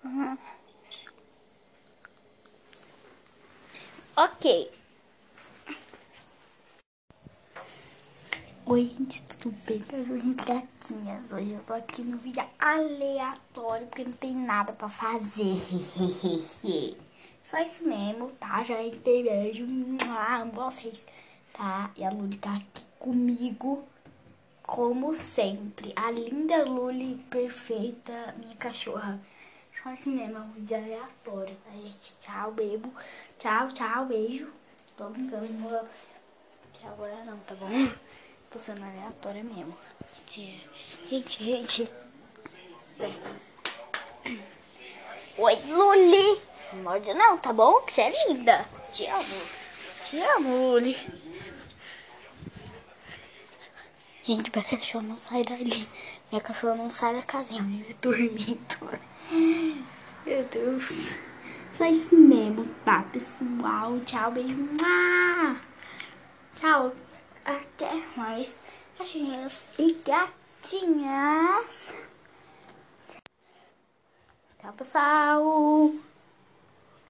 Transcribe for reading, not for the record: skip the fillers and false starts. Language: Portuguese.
Ok. Oi, gente, tudo bem? Cachorrinhos, gatinhas. Hoje eu tô aqui no vídeo aleatório, porque não tem nada pra fazer. Só isso mesmo, tá? Já entrei, beijo. Amo vocês, tá? E a Luli tá aqui comigo, como sempre. A linda Luli, perfeita, minha cachorra. Só isso mesmo, é um vídeo aleatório, tá, gente? Tchau, bebo. Tchau, tchau, beijo. Tô brincando, não vou... Tchau agora não, tá bom? Tô sendo aleatória mesmo. Gente. Oi, Luli. Não morde não, tá bom? Que você é linda. Te amo. Te amo, Luli. Gente, minha cachorra não sai dali. Minha cachorra não sai da casinha, vive dormindo. Meu Deus. Só isso mesmo, tá, pessoal? Tchau, beijo. Tchau. Até mais, cachorrinhos e gatinhas. Tchau, pessoal.